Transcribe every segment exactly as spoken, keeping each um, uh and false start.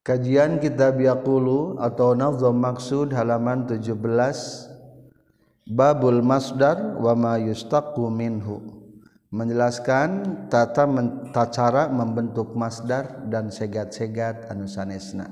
Kajian kitab Yaqulu atau Nazm Maksud halaman tujuh belas. Babul masdar wa ma yustaqu minhu, menjelaskan tata men, cara membentuk masdar dan segat-segat anu sanesna.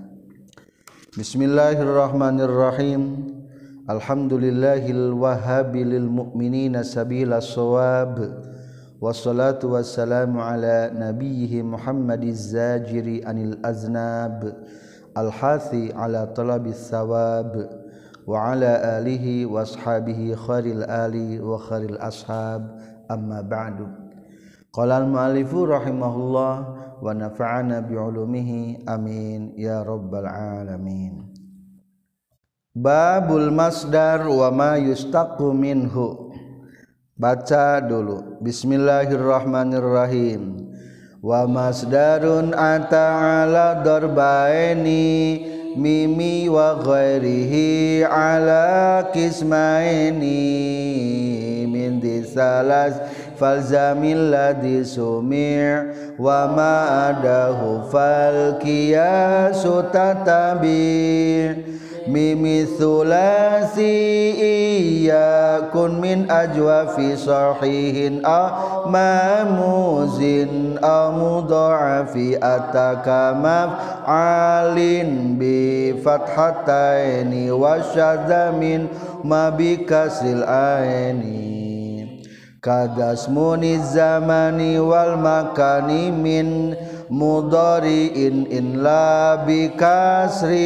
Bismillahirrahmanirrahim. Alhamdulillahil wahhabilil mu'minina sabila shawab. Wassalatu wassalamu ala nabiyhi Muhammadiz zajiri anil aznab, al-hathi ala talabis thawab, wa ala alihi wa ashabihi khairil ali wa khairil ashab, amma ba'du. Qala al-mu'allifu rahimahullah wa nafa'ana bi'ulumihi amin ya rabbal alamin. Babul masdar wa ma yustaqu minhu. Baca dulu. Bismillahirrahmanirrahim. Wa masdarun ata ala darbaini mimi wa ghairihi ala kismaini min disalas falzamil ladhi sumi' wa ma adahu fal qiyasu tatabi' mimi thulasi iyakun min ajwafi sahihin aw mamuzin aw mudha'afi ataka maf'alin bi fathataini wa syadzamin ma bi kasril aini kadasmuni zamani wal makani min mudhari'in in la bi kasri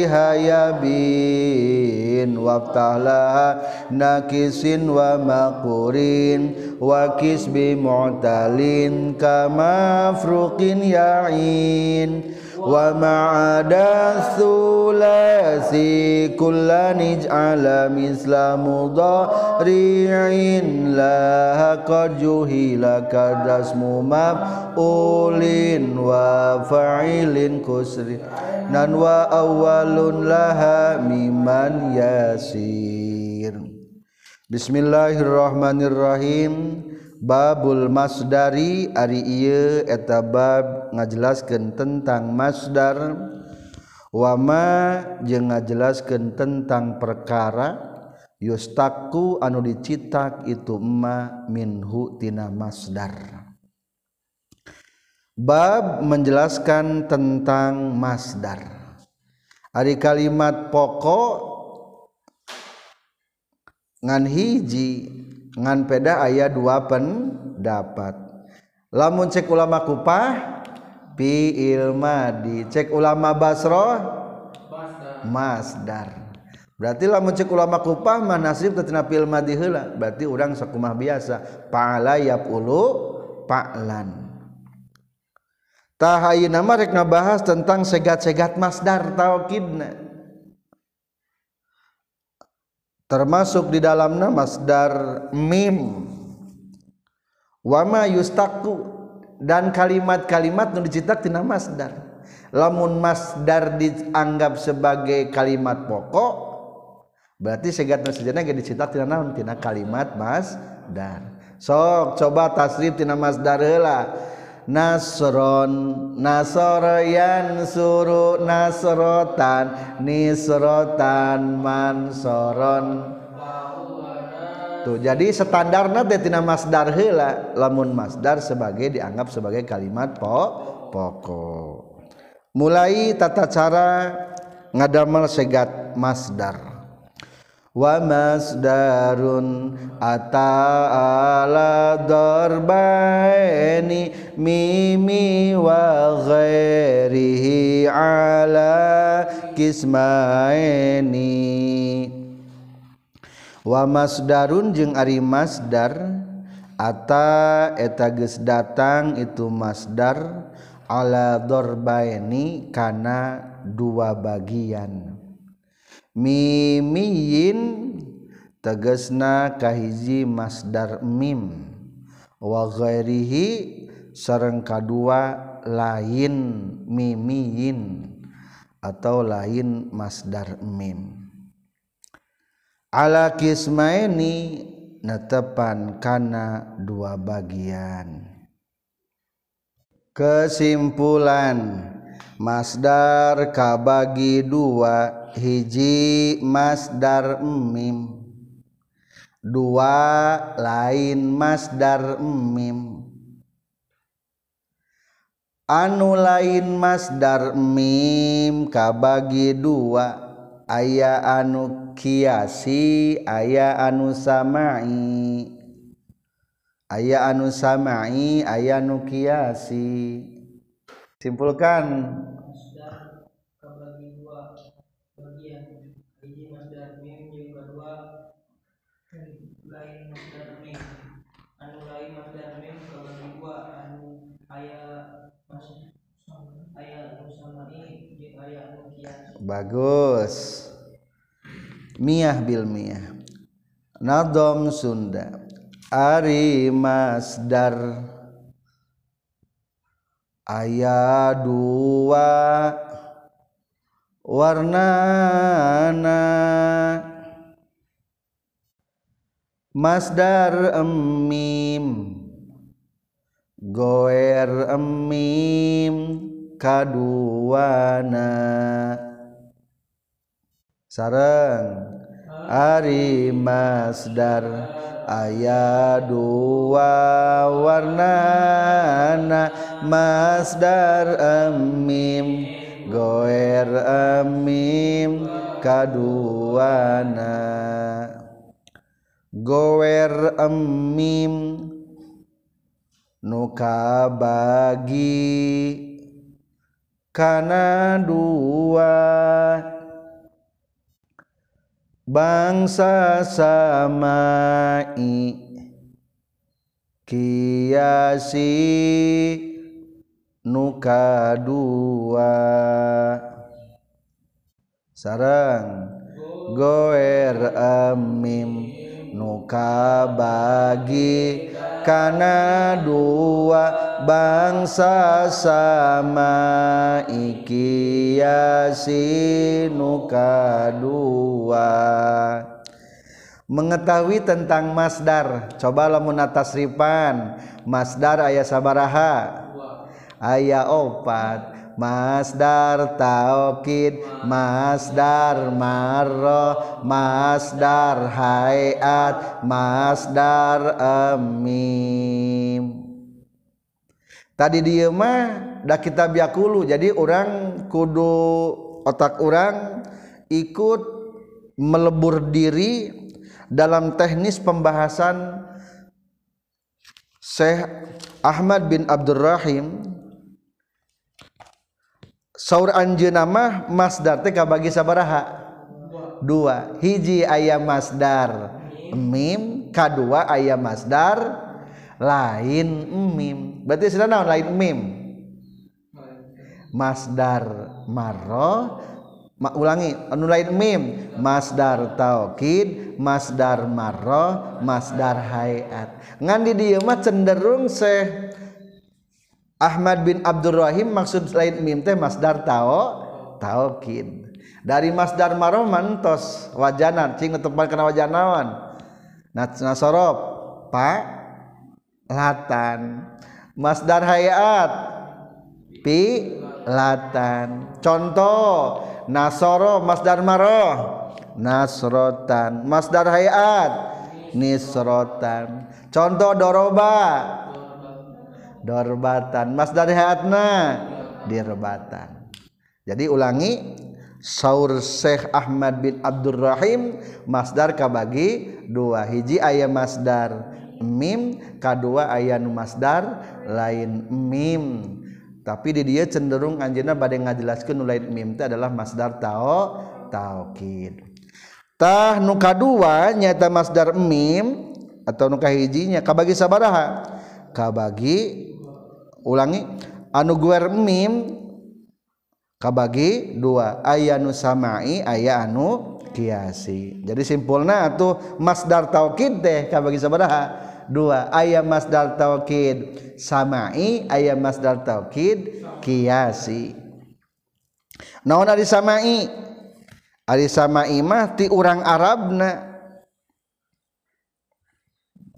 hayabin waqtalaha nakisin wa maqurin wa kisbi mu'talin kama fruqin ya'in wa ma'ada thulasi kullan ij'ala misla mudhari'in la qad juhila kadasmu maf'ulin wa fa'ilin kusri nan wa awwalun laha miman yasir. Bismillahirrahmanirrahim. Babul masdari ari ieu eta bab ngajelaskeun tentang masdar wa ma jeung ngajelaskeun tentang perkara yustaku anu dicitak itu ma minhu tina masdar. Bab menjelaskan tentang masdar. Ari kalimat pokok ngan hiji ngan peda aya dua pendapat. Lamun cek ulama Kufah fi'il madi, cek ulama Basrah masdar. Berarti lamun cek ulama Kufah mah nasib tina fi'il madi heula, berarti urang sakumah biasa fa'ala yaf'ulu fa'lan. Tah ayeuna mah rek ngabahas tentang segat-segat masdar taukidna. Termasuk di dalamnya masdar mim wa ma yustaku dan kalimat-kalimat nu dicitak tina masdar. Lamun masdar dianggap sebagai kalimat pokok berarti segatna sejenna ge dicitak tina naon tina kalimat masdar. Sok coba tasrif tina masdar heula. Nasron nasroyan suru nasrotan nisrotan mansoron. Tuh jadi standarna teh tina masdar heula, lamun masdar sebagai dianggap sebagai kalimat pokok. Mulai tata cara ngadamel segat masdar. Wa masdarun ata'ala darbaini mimi wa ghairihi ala kismaini. Wa masdarun jeung ari masdar ata eta geus datang itu masdar ala darbaini kana dua bagian. Mimiyin tegasna kahiji masdar mim wa ghairihi sareng kadua lain mimiyin atau lain masdar mim. Ala kismaini netepan kana dua bagian. Kesimpulan Masdar kabagi dua, hiji masdar mim, dua lain masdar mim. Anu lain masdar mim kabagi dua, aya anu kiasi aya anu samai, aya anu samai aya anu kiasi. Simpulkan. Masdar kabagi dua bagian, hiji masdar mim jeung kedua lain masdar mim. Anu lain masdar mim kabagi dua, anu aya mas aya anu samai jeung aya anu kiasi. Bagus. Miyah bil miyah. Nadom Sunda. Ari masdar aya dua warnana. Masdar mim goer mim kaduana. Sareng ari masdar aya dua warnana. Masdar mim goer mim kaduana. Goer mim nu kabagi kana dua, bangsa samai kiasi nu kadua. Sareng goer mim nu kabagi kana dua, bangsa sama ikiasi nu kadua. Mengetahui tentang masdar, coba lamun tasrifan masdar aya sabaraha? Aya opat. Masdar taukid, masdar marroh, masdar hayat, masdar mim. Tadi dieu mah da kitab yakulu, jadi orang kudu otak orang ikut melebur diri dalam teknis pembahasan Syekh Ahmad bin Abdurrahim. Saur anjeunna mah masdar teh kabagi sabaraha? Dua. Hiji aya masdar mim, kadua aya masdar lain mim. Berarti sudah naon lain mim? Masdar marroh, ma, ulangi anu lain mim, masdar taukid, masdar marroh, masdar hayat. Ngan di dieu mah cenderung Syekh Ahmad bin Abdurrahim maksud lain mim teh masdar tao taukid. Dari masdar marroh mantos wajanan cing tepan kana wajan naon? Nasorof pa latan. Masdar hayat pi latan. Contoh nasoro masdar marroh nasrotan, masdar hayat nisrotan. Contoh doroba dorbatan, masdar hayatna dirbatan. Jadi ulangi, saur Syekh Ahmad bin Abdurrahim masdar kabagi dua, hiji aya masdar mim, kadua aya nu masdar lain mim. Tapi di dia cenderung anjeunna bade ngajelaskeun nu lain mim teh adalah masdar tao taukid. Tah nu kadua nyaeta masdar mim atau nu kahijinya kabagi sabaraha? Kabagi, ulangi, anu guer mim kabagi dua, aya anu samai aya anu kiasi. Jadi simpulna atuh masdar taukid teh kabagi sabaraha? Dua. Aya masdar taukid samai, aya masdar taukid kiasi. Naon ari samai? Ari samai mah ti urang Arabna.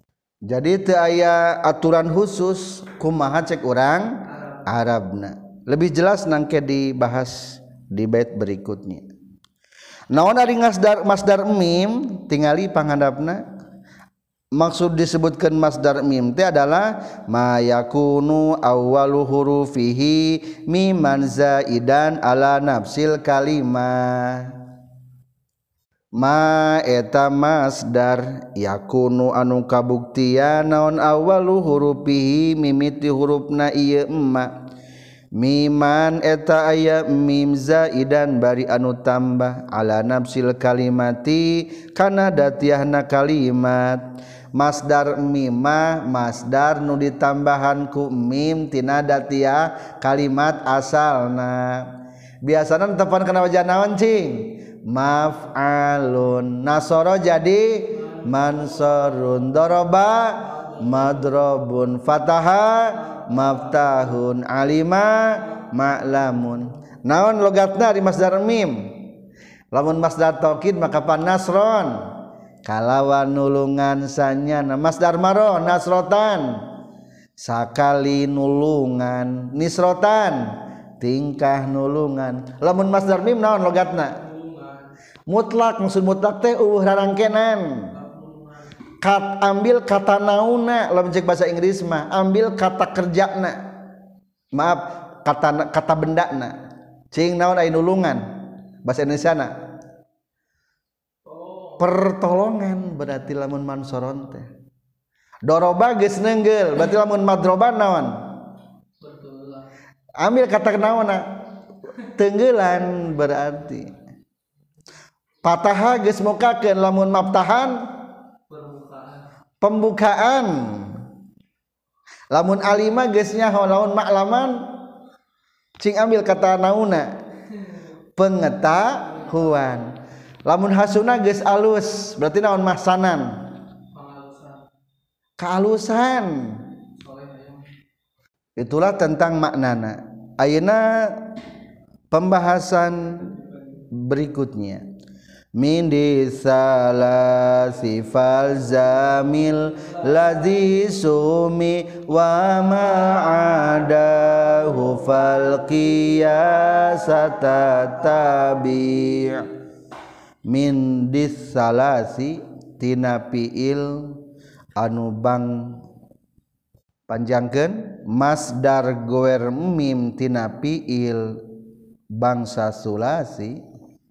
Jadi teu aya aturan khusus kumaha cek urang Arabna. Lebih jelas nangke dibahas di bait berikutnya. Naon ari masdar masdar mim tingali panghandapna. Maksud disebutkan masdar mim teh adalah ma yakunu awwalu hurufihi miman zaidan ala nafsil kalimah. Ma eta masdar yakunu anu kabuktian naon awwalu hurufihi mimiti hurufna ieu emma. Miman eta aya mim zaidan bari anu tambah ala nafsil kalimati kana datiahna kalimat. Masdar mimah masdar nu ditambahan ku mim tina datiah kalimat asalna. Biasana tepan kana wajah naon cing? Maf'alun. Nasara jadi mansurun. Daraba madrobun. Fataha maftahun. Alima ma'lamun. Naon logatna di masdar mim? Lamun masdar taukid maka pan nasron. Kalawan nulungan sanyana masdar maro nasrotan sakali nulungan nisrotan tingkah nulungan. Lamun masdar mim naon logatna? Mutlak. Maksud mutlak teh eueuh rarangkenan. Kat ambil kata nauna lamun cek bahasa Inggris mah ambil kata kerjana. Maaf kata kata bendana. Cing naon aya nulungan bahasa Indonesiana? Pertolongan berarti lamun mansoron teh. Doroba geus neunggel berarti lamun madroban naon? Ambil kata naonna? Teunggelan berarti. Fataha geus mukakeun lamun maftahan pembukaan. Lamun alima geus nyaho lamun maklaman cing ambil kata nauna pengetahuan. Lamun hasuna geus alus berarti naon mahsanan? Kealusan. Itulah tentang maknana. Ayeuna pembahasan berikutnya. Min disalasi fal zamil ladzi sumi wa ma'adahu fal qiyasata tabi'. Min disalasi tina fiil anu bang panjangkeun masdar goer mim tina fiil bangsa sulasi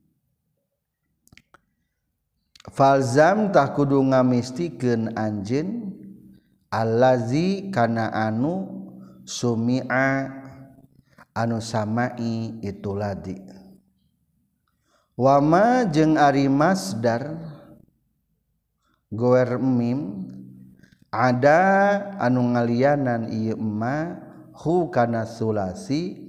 falzam tah kudu ngamistikeun anjeun allazi kana anu sumi'a anu samai itu ladi. Wama jeung ari masdar goer mim ada anu ngalianan ieu emma hu kana sulasi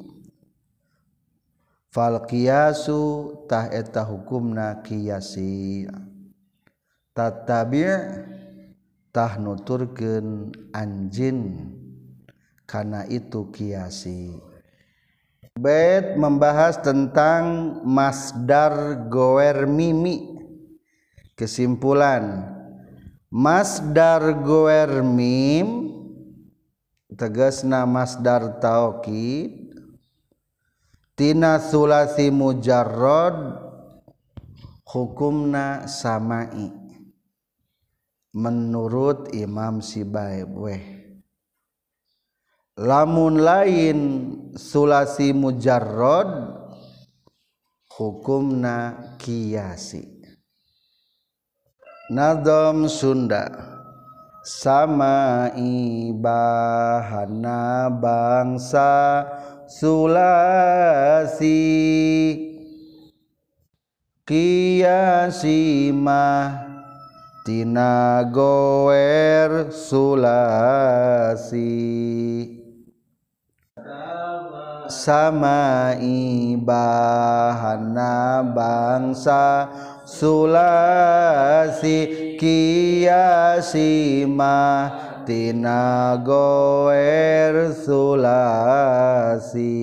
fal qiyasu tah eta hukumna qiyasi tatabi' tah nuturkeun anjeun kana itu qiyasi. Bait membahas tentang masdar goer mimi. Kesimpulan masdar goer mim tegasna masdar taukid tina sulasi mujarrad hukumna samai menurut Imam Sibaeweh. Lamun lain sulasi mujarrad hukumna qiyasi. Nazam Sunda sama ibahana bangsa sulasi qiyasi mah tina goer sulasi sama ibahana bangsa sulasi qiyasi mah tina goer sulasi.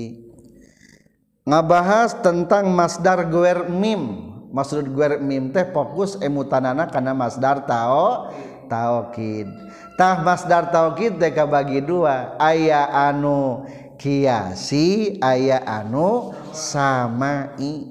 Ngabahas tentang masdar goer mim. Maksud goer mim teh fokus emutanana kana masdar tao taukid. Tah masdar taukid teh kabagi dua, aya anu kiasi aya anu samai.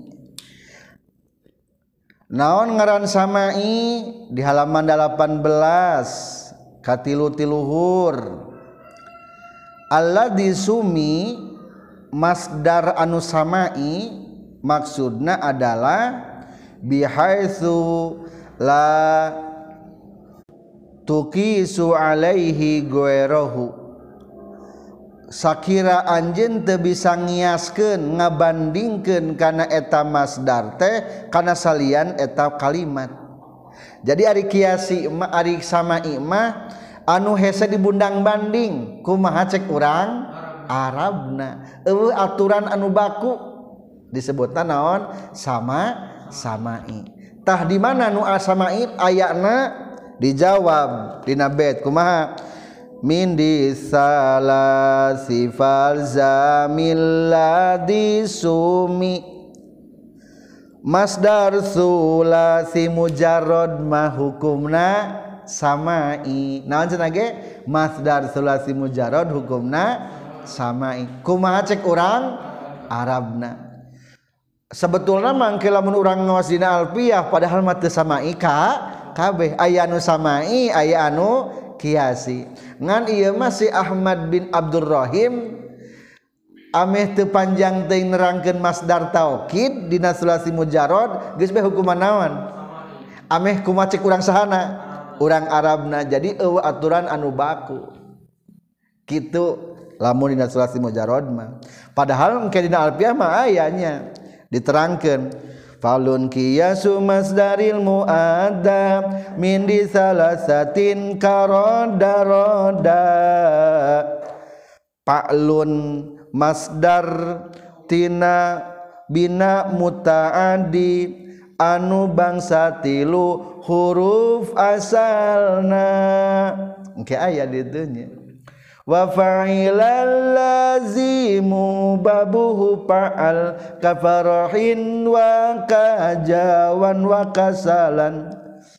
Naon ngaran samai di halaman delapan belas katilu tiluhur. Alladzi sumi masdar anu samai maksudna adalah bihaitsu la tuqisu alaihi ghairuhu, sakira anjeun teu bisa ngiaskeun ngabandingkeun kana eta masdar teh kana salian eta kalimat. Jadi ari kiasi mah ari samai mah anu hese dibundang banding kumaha cek urang Arabna, eueuh aturan anu baku disebutna naon sama samai. Tah di mana nu samai ayana? Dijawab dina bait kumaha min disalasi falzamil ladzi sumi masdar sulasi mujarrad mah hukumna samai. Naon cenah ge masdar sulasi mujarrad hukumna samai. Kumaha cek urang Arabna? Sebetulna mangke lamun urang ngaos dina alfiyah padahal mah teu samai ka kabeh, aya anu samai aya anu kiasi. Ngan ieu mah si Ahmad bin Abdurrahim ameh teu panjang teuing nerangkeun masdar taukid dina sulasi mujarrad geus bae hukuman naon? Ameh kumaha cek urang sahana? Urang Arabna. Jadi eueuh aturan anu baku. Kitu lamun dina sulasi mujarrad mah. Padahal engke dina alfiyah mah ayanya diterangkeun falun qiyasu masdaril muadda min di salasatin karoda roda pa'lun masdar tina bina mutaaddi anu bangsa tilu huruf asalna engke aya di dieu nya wa fa'ilal lazimu babuhu fa'al kafarahin wa kajawan wa kasalan.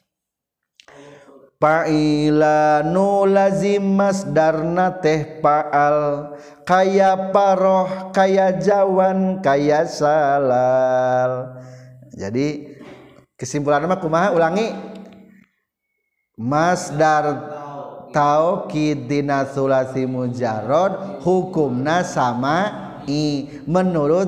Fa'ilanu lazim masdarna teh fa'al kaya paroh kaya jawan kaya salal. Jadi kesimpulanna mah kumaha ulangi masdar taukid dina sulasi mujarrad hukumna samai menurut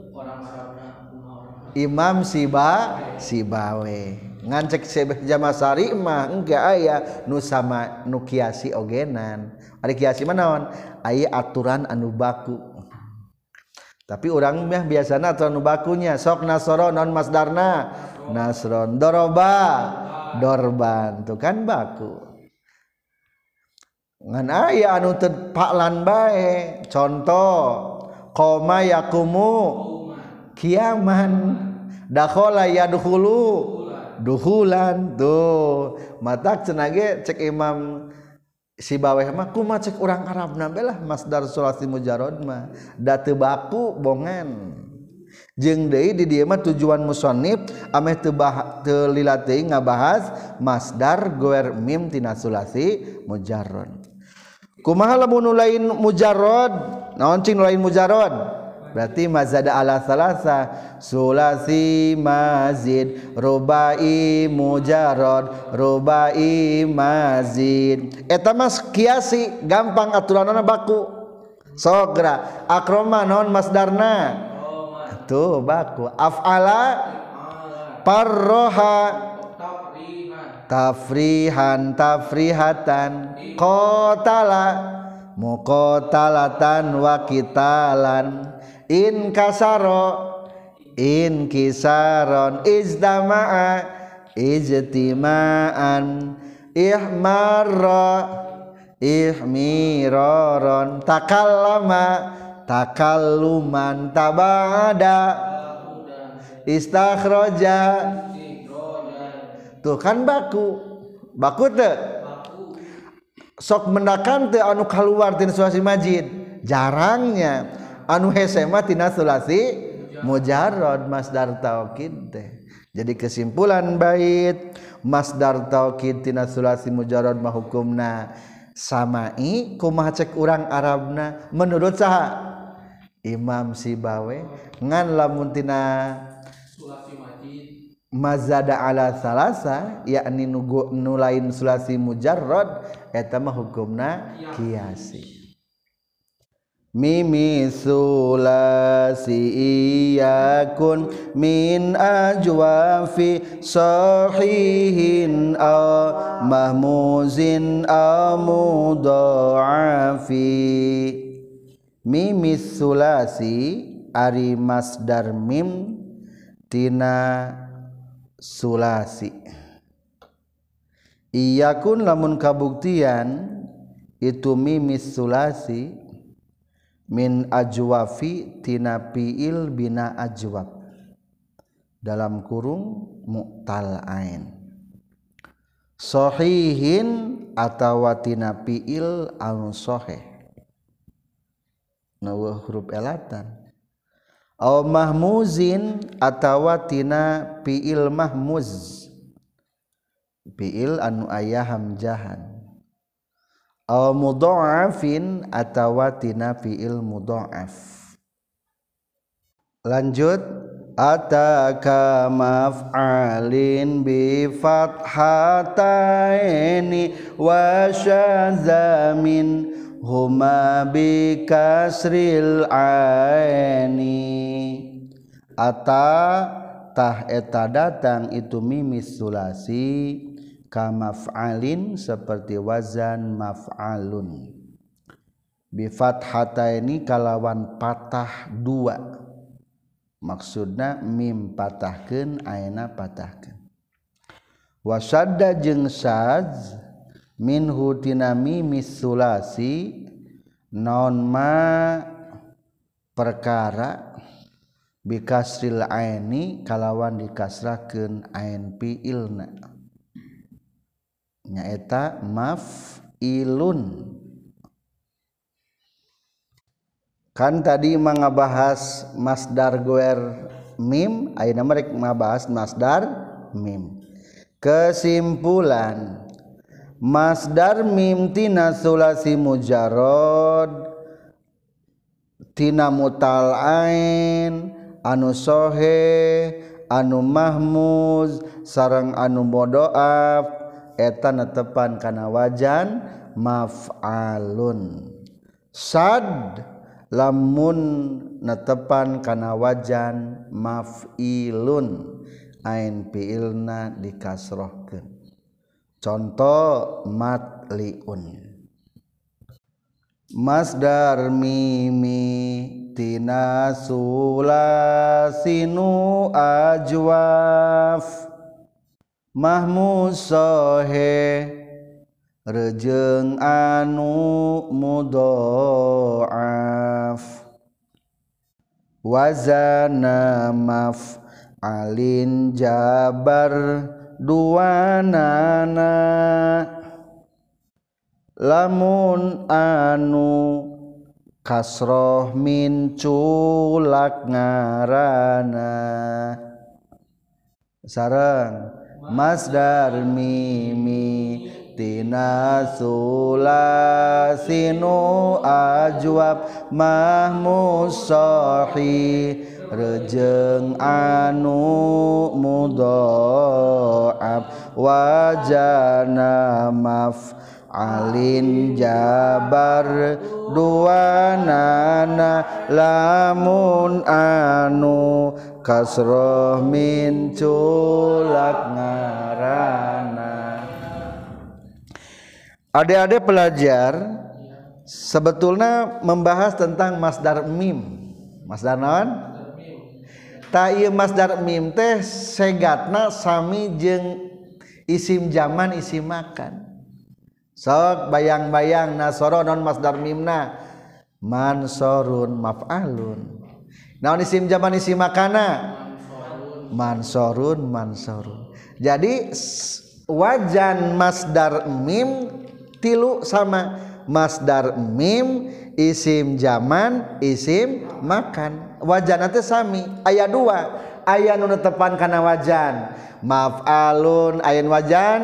Imam Siba Sibawe. Ngan cek Syekh Jamasari mah engke aya nu sama nu kiasi ogenan. Ari kiasi mah naon? Aya aturan anu baku. Tapi urang mah biasana aturan anu bakunya sok nasoro non masdarna nasron, doroba dorban, tu kan baku. Ngan aya anu teu paklan bae. Contoh qoma yakumu kiaman, dakhala yadkhulu duhulan. Tuh matak cenah ge cek Imam Sibaweh mah kumaha cek urang Arabna belah masdar sulasi mujarrad mah da teu baku bongan. Jeung deui di dieu mah tujuan musannif ameh teu teu lila teuing ngabahas masdar goer mim tina sulasi mujarrad. Kumaha lamun lain mujarrad? Naon cing lain mujarrad? Berarti mazada ala salasa sulasi mazid rubai mujarrad rubai mazid. Eta mas kiasi gampang aturanna baku. Sogra akroma naon masdarna? Tuh baku. Af'ala parroha tafrihan tafrihatan qatala muqatalatan wa qitalan in kasaro in kisaron izdama'a ijtima'an ihmarra ihmiraron takallama takalluman tabada istakhraja. Tuh kan baku baku teu sok mendakan teu anu kaluar tina sulasi majid jarangnya anu hese mah tina sulasi mujarrad masdar taukid teh. Jadi kesimpulan bait masdar taukid tina sulasi mujarrad mah hukumna samai kumaha cek urang Arabna menurut saha Imam Sibawe ngan lamun tina sulasi majid mazada ala salasa yakni nugu nulain sulasi mujarrad eta mah hukumna qiyasi. Mimi sulasi iyakun min ajwafi sahihin aw mahmuzin aw mudha'afi. Mimi sulasi ari masdar mim tina sulasi. Iyakun lamun kabuktian itu mimis sulasi min ajwafi tina fiil bina ajwab dalam kurung mu'tal ain sahihin atawa tina fiil anu sahih nawa huruf elatan aw mahmuzin atawa tina fiil mahmuz fiil anu aya hamzahan aw mudha'afin atawa tina fiil mudha'af. Lanjut ataka maf'alin bi fathataini wa syazamin huma bi kasril aini. Ata tah eta datang itu mimis sulasi ka maf'alin seperti wazan maf'alun bi fathataini kalawan patah dua maksudna mim patahkeun ayeuna patahkeun wa syadda jeung syadz minhu tina mimis sulasi naon ma perkara bi kasril aini kalawan dikasrahkeun ain fiilna nyaeta maf'ilun. Kan tadi mangabahas masdar goer mim ayeuna mah rek mabahas masdar mim. Kesimpulan masdar mim tina sulasi mujarrad tina mutal ain anu sahih anu mahmuz sareng anu mudha'af eta netepan kana wajan maf'alun. Sad lamun netepan kana wajan maf'ilun ain fiilna dikasrohkeun. Contoh matliun. Masdar mimi tina sulasinu ajwaf mahmuz sahih rejeung anu mudha'af wazana maf'alin jabar duanana lamun anu kasroh min culak ngarana sareng masdar mimi tina sulasinu ajwab mahmuz sahih rejeung anu mudha'af wajana maf'alin jabar duanana lamun anu kasroh min culak ngarana. Adik-adik pelajar sebetulnya membahas tentang masdar mim. Masdar naon? Ta ieu masdar mim teh segatna sami jeung isim zaman isim makan. Sok bayang-bayang nasoro non masdar mimna mansorun maf'alun. Naon isim zaman isim makana mansorun mansorun. Jadi wajan masdar mim tilu sama masdar mim isim zaman isim makan wajan teh sami aya dua aya nu netepan kana wajan maf'alun ayeun wajan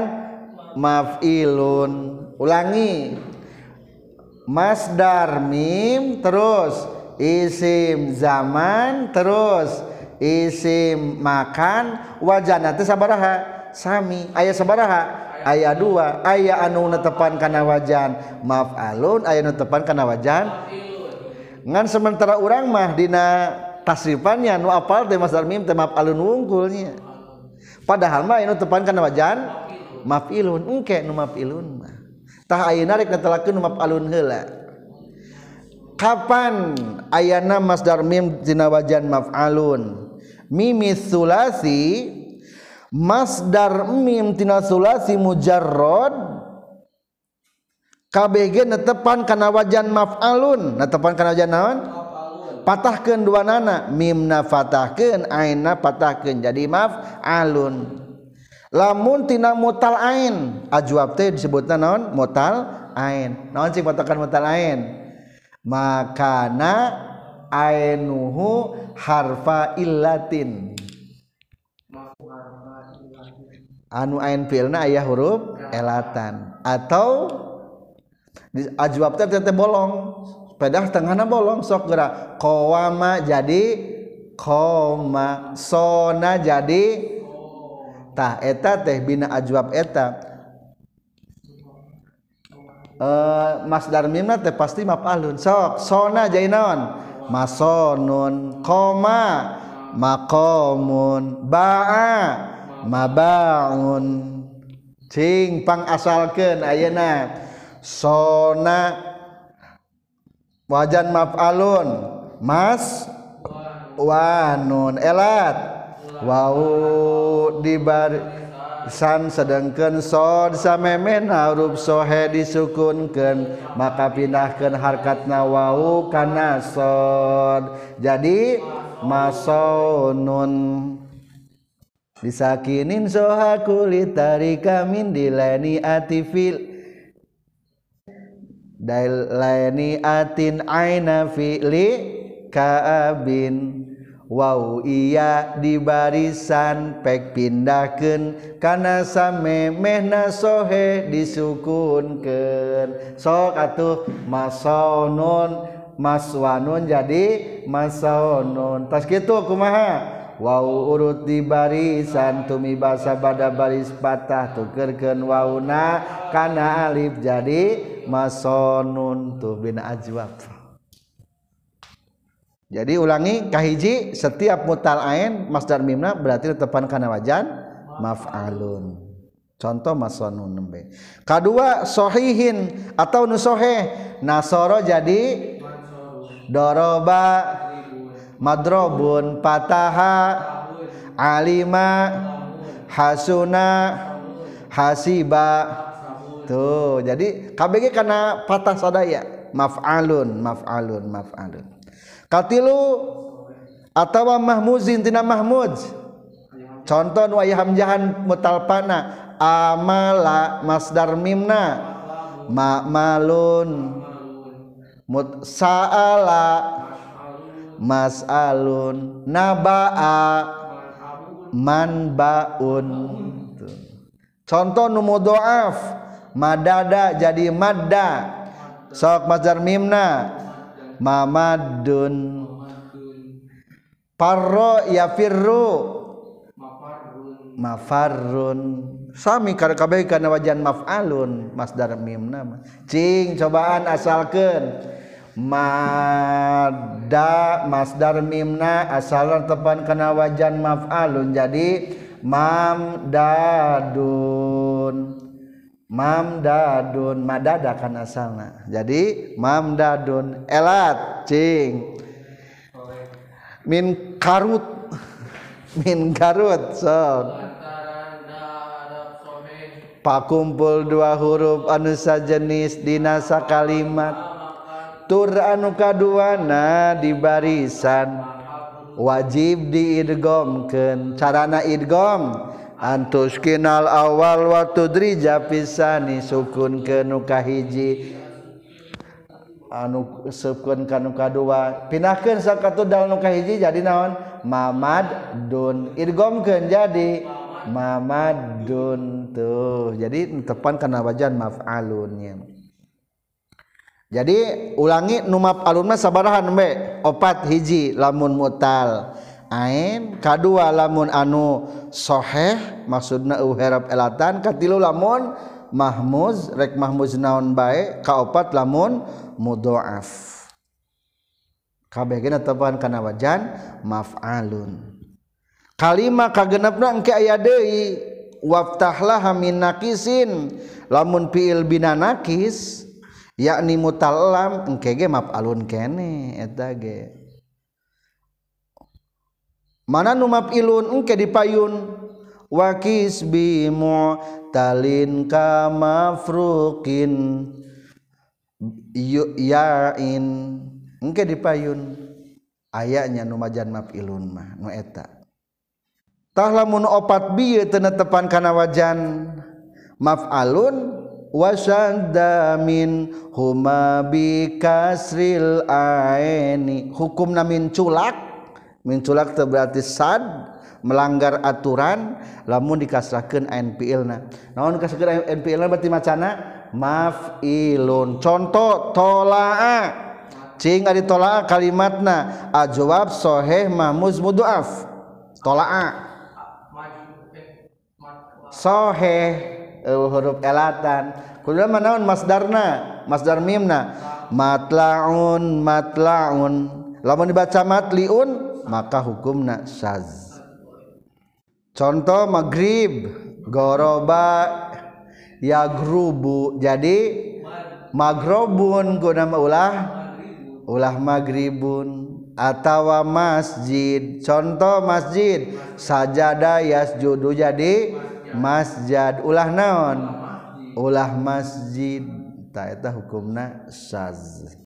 maf'ilun. Ulangi masdar mim terus isim zaman terus isim makan wajana teh sabaraha sami aya sabaraha aya dua aya anu netepan kana wajan maf'alun aya nu netepan kana wajan ngan sementara urang mah dina tasrifannya nu apal teh masdar mim teh maf'alun wungkulnya padahal mah aya nu netepan kana wajan maf'ilun engke nu maf'ilun mah tah ayeuna rek netelakeun nu maf'alun heula kapan ayana masdar mim dina wajan maf'alun mimis sulasi masdar mim tina sulasi mujarrad kabeh netepan kana wajan maf'alun netepan kana wajan naon patahkeun duanana mimna fatahkeun ainna patahkeun jadi maf'alun lamun tina mutal ain ajwab teh disebutna naon mutal ain naon sing patahkan mutal ain makana ainuhu harfa illatin anu ain fi'ilna aya huruf elatan atau ajwab teh teh bolong pedah tengahna bolong sok geura qawama jadi qoma sona jadi tah eta teh bina ajwab eta uh, masdar mimna teh pasti maf'alun sok sona jadi naon masonun qoma maqamun ba'a mabaun cing pang asalkeun ayeuna sona wajan maf'alun mas wanun elat wau dibarisan sedengkeun sod samemeh huruf sohe disukunkeun maka pindahkeun harkatna wau kana sod jadi masonun disakinin soha kulitari kamin dilani atifil dailani atin aina fi'li kaabin wau iya di barisan pek pindahkeun kana samemehna sohe disukunkeun sok atuh masonun maswanun jadi masonun tas kitu kumaha wau urut di barisan tumi basa pada baris patah tukerkeun wauna kana alif jadi masonun tuh bina ajwab. Jadi ulangi kahiji setiap mutal ain masdar mimna berarti tepan kana wajan maf'alun. Contoh masonun nembe. Kadua sohihin atau nusoheh nasoro jadi doroba madrobun pataha alima hasuna hasiba tuh jadi K B G karena patah sadaya maf'alun maf'alun maf'alun katilu atawa mahmuzin tina mahmuz contoh nu aya hamzahan mutalpana amala masdar mimna ma'malun mut sa'ala mas'alun naba'a manbaun contoh nu mudhoaf madada jadi madda sok masdar mimna mamadun parro yafirru mafarrun sami kabeh kana wajan maf'alun masdar mimna cing cobaan asalkeun madda masdar mimna asalna tepan kana wajan maf'alun jadi mamdadun mamdadun madada kan asalna jadi mamdadun elat cing min karut min karut sok pakumpul dua huruf anu sajenis dina sakalimat tur anu kaduana di barisan wajib diidghamkeun carana idgham antus kinal awal wa tudrija pisani sukunkeun nu kahiji anu sukun kanu kadua pindahkeun sakatudal nu kahiji jadi naon mamadun idghamkeun jadi mamadun tuh jadi tepan kana wajan maf'alunnya Jadi ulangi nu maf'alun mah sabarahan be opat hiji lamun mutal ain kadua lamun anu sahih maksudna uherap elatan katilu lamun mahmuz rek mahmuz naon bae kaopat lamun mudhoaf kabeh gena tepan kana wajan maf'alun kalima kagenepna engke aya deui waftahlah min naqisin lamun fiil bina naqis yakni mutallam engke ge maf'alun kene eta ge mana nu maf'ilun engke dipayun wa kisbi mu'talin ka mafruqin ya'in engke dipayun ayanya nu majan maf'ilun mah nu eta tah lamun opat bieu teu netepan kana wajan maf'alun wasadda min huma bi kasril aini hukumna min culak min culak teu berarti sad melanggar aturan lamun dikasrahkeun ain fiilna naon dikasrahkeun ain fiilna berarti macana maf'ilun contoh tolaa cing ari tolaa kalimatna ajwab sahih mahmuz mudhoaf tolaa sahih uh, huruf elatan kudu mah naon masdarna masdar mimna matlaun matlaun lamun dibaca matliun maka hukumna syaz contoh maghrib goroba yagrubu jadi magrobun guna ulah ulah maghribun atawa masjid contoh masjid sajada yasjudu jadi masjid ulah naon ulah masjid ta eta hukumna syaz